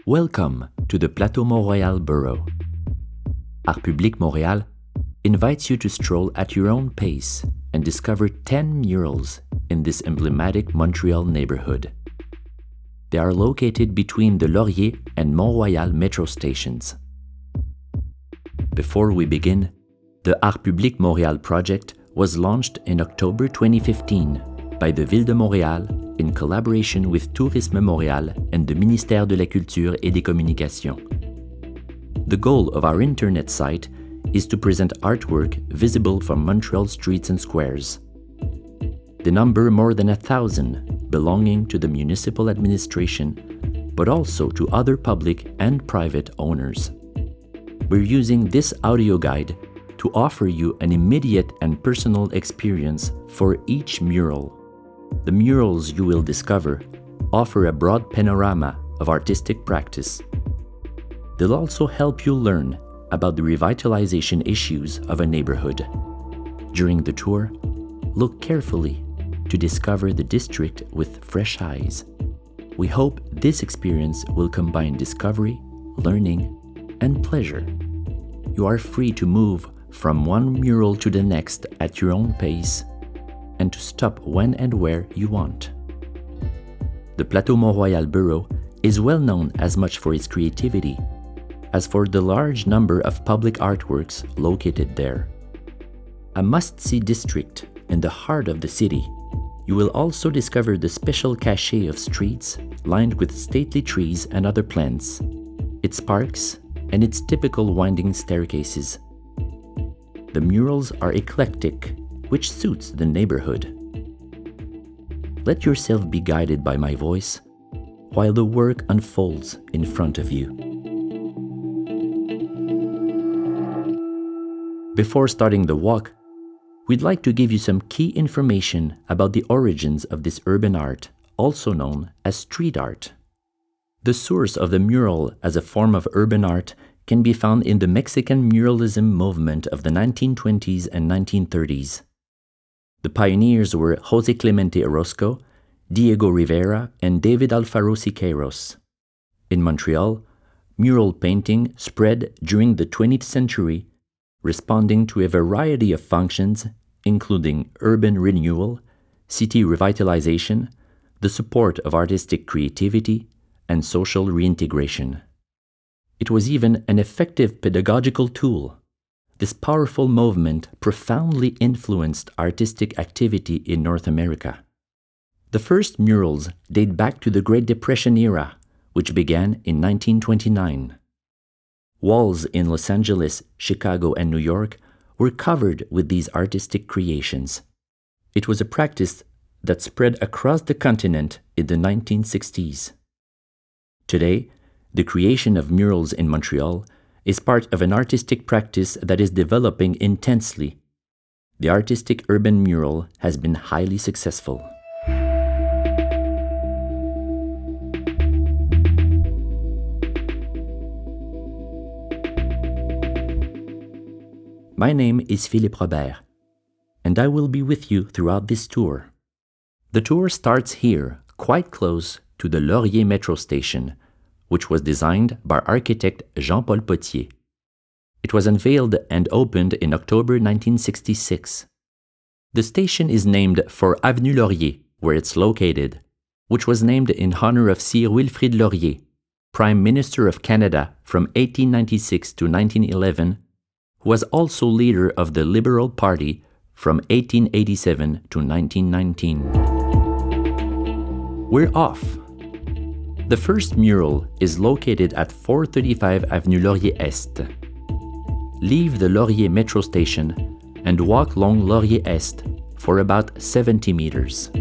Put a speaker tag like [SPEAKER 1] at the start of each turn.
[SPEAKER 1] Welcome to the Plateau Mont-Royal borough. Art Public Montréal invites you to stroll at your own pace and discover 10 murals in this emblematic Montreal neighborhood. They are located between the Laurier and Mont-Royal metro stations. Before we begin, the Art Public Montréal project was launched in October 2015 by the Ville de Montréal in collaboration with Tourisme Montréal and the Ministère de la Culture et des Communications. The goal of our internet site is to present artwork visible from Montreal streets and squares. They number more than 1,000 belonging to the municipal administration, but also to other public and private owners. We're using this audio guide to offer you an immediate and personal experience for each mural. The murals you will discover offer a broad panorama of artistic practice. They'll also help you learn about the revitalization issues of a neighborhood. During the tour, look carefully to discover the district with fresh eyes. We hope this experience will combine discovery, learning, and pleasure. You are free to move from one mural to the next at your own pace and to stop when and where you want. The Plateau Mont-Royal borough is well known as much for its creativity as for the large number of public artworks located there. A must-see district in the heart of the city, you will also discover the special cachet of streets lined with stately trees and other plants, its parks, and its typical winding staircases. The murals are eclectic, which suits the neighborhood. Let yourself be guided by my voice while the work unfolds in front of you. Before starting the walk, we'd like to give you some key information about the origins of this urban art, also known as street art. The source of the mural as a form of urban art can be found in the Mexican muralism movement of the 1920s and 1930s. The pioneers were José Clemente Orozco, Diego Rivera, and David Alfaro Siqueiros. In Montreal, mural painting spread during the 20th century, responding to a variety of functions, including urban renewal, city revitalization, the support of artistic creativity, and social reintegration. It was even an effective pedagogical tool. This powerful movement profoundly influenced artistic activity in North America. The first murals date back to the Great Depression era, which began in 1929. Walls in Los Angeles, Chicago, and New York were covered with these artistic creations. It was a practice that spread across the continent in the 1960s. Today, the creation of murals in Montreal is part of an artistic practice that is developing intensely. The artistic urban mural has been highly successful. My name is Philippe Robert, and I will be with you throughout this tour. The tour starts here, quite close to the Laurier metro station, which was designed by architect Jean-Paul Potier. It was unveiled and opened in October 1966. The station is named for Avenue Laurier, where it's located, which was named in honor of Sir Wilfrid Laurier, Prime Minister of Canada from 1896 to 1911, who was also leader of the Liberal Party from 1887 to 1919. We're off. The first mural is located at 435 Avenue Laurier Est. Leave the Laurier metro station and walk along Laurier Est for about 70 meters.